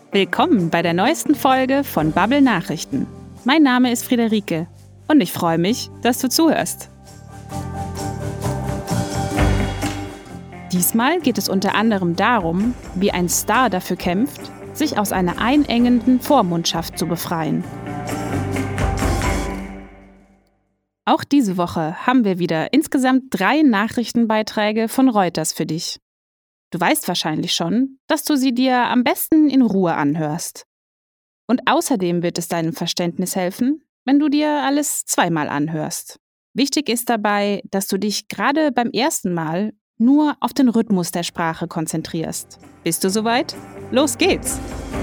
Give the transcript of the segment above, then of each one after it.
Willkommen bei der neuesten Folge von Bubble Nachrichten. Mein Name ist Friederike und ich freue mich, dass du zuhörst. Diesmal geht es unter anderem darum, wie ein Star dafür kämpft, sich aus einer einengenden Vormundschaft zu befreien. Auch diese Woche haben wir wieder insgesamt 3 Nachrichtenbeiträge von Reuters für dich. Du weißt wahrscheinlich schon, dass du sie dir am besten in Ruhe anhörst. Und außerdem wird es deinem Verständnis helfen, wenn du dir alles zweimal anhörst. Wichtig ist dabei, dass du dich gerade beim ersten Mal nur auf den Rhythmus der Sprache konzentrierst. Bist du soweit? Los geht's!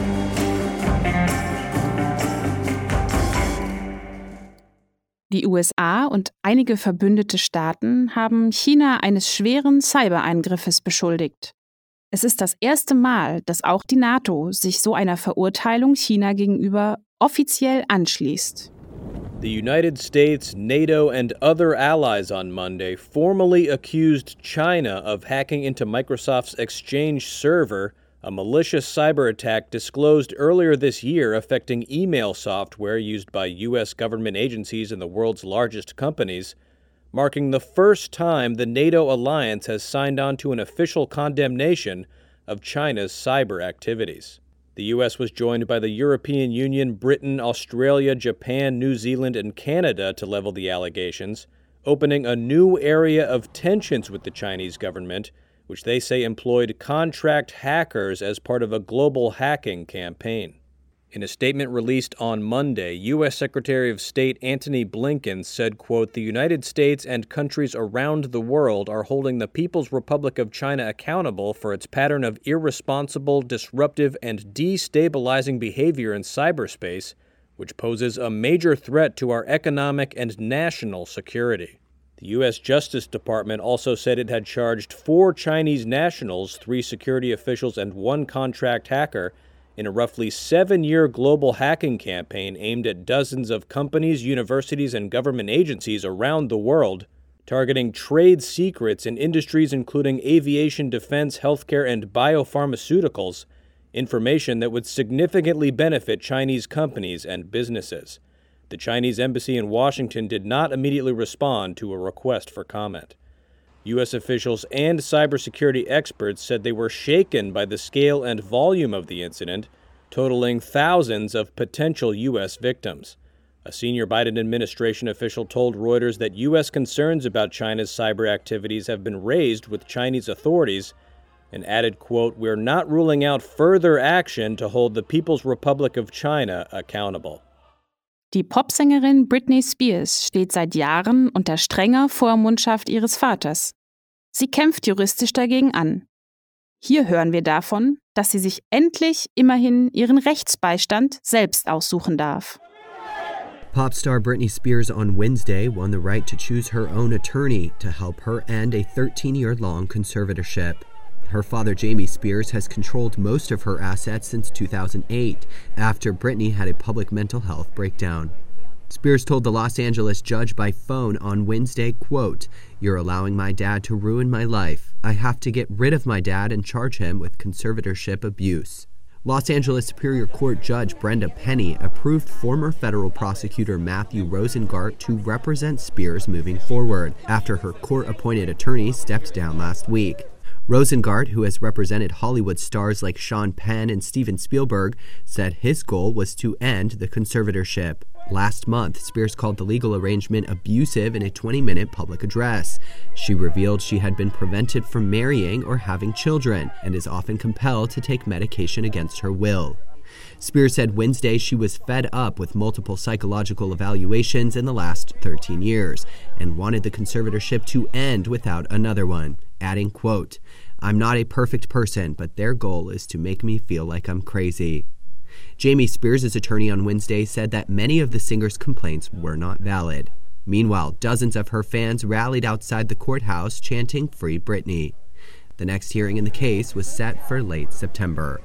Die USA und einige verbündete Staaten haben China eines schweren Cybereingriffes beschuldigt. Es ist das erste Mal, dass auch die NATO sich so einer Verurteilung China gegenüber offiziell anschließt. The United States, NATO, and other allies on Monday formally accused China of hacking into Microsoft's Exchange server, a malicious cyber attack disclosed earlier this year affecting email software used by U.S. government agencies and the world's largest companies, marking the first time the NATO alliance has signed on to an official condemnation of China's cyber activities. The U.S. was joined by the European Union, Britain, Australia, Japan, New Zealand, and Canada to level the allegations, opening a new area of tensions with the Chinese government, which they say employed contract hackers as part of a global hacking campaign. In a statement released on Monday, U.S. Secretary of State Antony Blinken said, quote, "The United States and countries around the world are holding the People's Republic of China accountable for its pattern of irresponsible, disruptive, and destabilizing behavior in cyberspace, which poses a major threat to our economic and national security." The U.S. Justice Department also said it had charged 4 Chinese nationals, 3 security officials, and 1 contract hacker in a roughly 7-year global hacking campaign aimed at dozens of companies, universities, and government agencies around the world, targeting trade secrets in industries including aviation, defense, healthcare, and biopharmaceuticals, information that would significantly benefit Chinese companies and businesses. The Chinese embassy in Washington did not immediately respond to a request for comment. U.S. officials and cybersecurity experts said they were shaken by the scale and volume of the incident, totaling thousands of potential U.S. victims. A senior Biden administration official told Reuters that U.S. concerns about China's cyber activities have been raised with Chinese authorities and added, quote, "We're not ruling out further action to hold the People's Republic of China accountable." Die Popsängerin Britney Spears steht seit Jahren unter strenger Vormundschaft ihres Vaters. Sie kämpft juristisch dagegen an. Hier hören wir davon, dass sie sich endlich immerhin ihren Rechtsbeistand selbst aussuchen darf. Pop star Britney Spears on Wednesday won the right to choose her own attorney to help her end a 13-year-long conservatorship. Her father, Jamie Spears, has controlled most of her assets since 2008, after Britney had a public mental health breakdown. Spears told the Los Angeles judge by phone on Wednesday, quote, "You're allowing my dad to ruin my life. I have to get rid of my dad and charge him with conservatorship abuse." Los Angeles Superior Court Judge Brenda Penny approved former federal prosecutor Matthew Rosengart to represent Spears moving forward, after her court-appointed attorney stepped down last week. Rosengart, who has represented Hollywood stars like Sean Penn and Steven Spielberg, said his goal was to end the conservatorship. Last month, Spears called the legal arrangement abusive in a 20-minute public address. She revealed she had been prevented from marrying or having children and is often compelled to take medication against her will. Spears said Wednesday she was fed up with multiple psychological evaluations in the last 13 years and wanted the conservatorship to end without another one, adding, quote, "I'm not a perfect person, but their goal is to make me feel like I'm crazy." Jamie Spears' attorney on Wednesday said that many of the singer's complaints were not valid. Meanwhile, dozens of her fans rallied outside the courthouse chanting "Free Britney." The next hearing in the case was set for late September.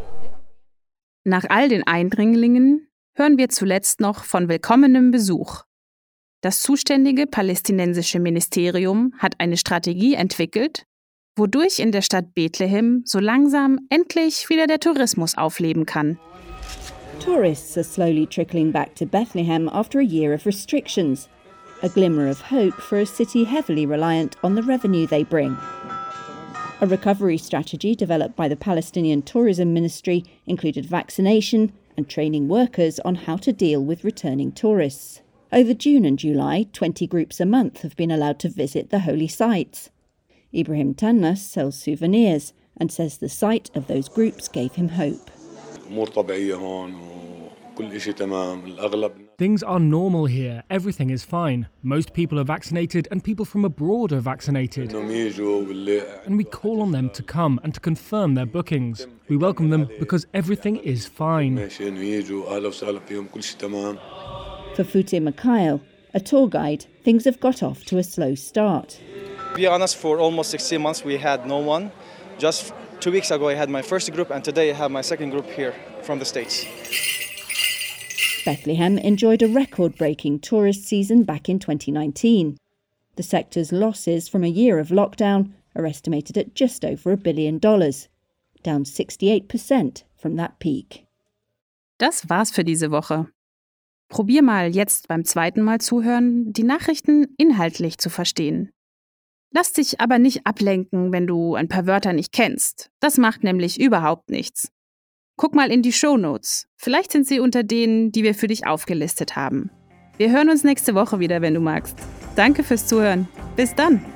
Nach all den Eindringlingen hören wir zuletzt noch von willkommenem Besuch. Das zuständige palästinensische Ministerium hat eine Strategie entwickelt, wodurch in der Stadt Bethlehem so langsam endlich wieder der Tourismus aufleben kann. Tourists are slowly trickling back to Bethlehem after a year of restrictions. A glimmer of hope for a city heavily reliant on the revenue they bring. A recovery strategy developed by the Palestinian Tourism Ministry included vaccination and training workers on how to deal with returning tourists. Over June and July, 20 groups a month have been allowed to visit the holy sites. Ibrahim Tannas sells souvenirs and says the sight of those groups gave him hope. Things are normal here. Everything is fine. Most people are vaccinated and people from abroad are vaccinated. And we call on them to come and to confirm their bookings. We welcome them because everything is fine. For Fute Mikhail, a tour guide, things have got off to a slow start. To be honest, for almost 16 months we had no one. Just 2 weeks ago I had my first group and today I have my second group here from the States. Bethlehem enjoyed a record-breaking tourist season back in 2019. The sector's losses from a year of lockdown are estimated at just over $1 billion, down 68% from that peak. Das war's für diese Woche. Probier mal jetzt beim zweiten Mal zuhören, die Nachrichten inhaltlich zu verstehen. Lass dich aber nicht ablenken, wenn du ein paar Wörter nicht kennst. Das macht nämlich überhaupt nichts. Guck mal in die Shownotes. Vielleicht sind sie unter denen, die wir für dich aufgelistet haben. Wir hören uns nächste Woche wieder, wenn du magst. Danke fürs Zuhören. Bis dann!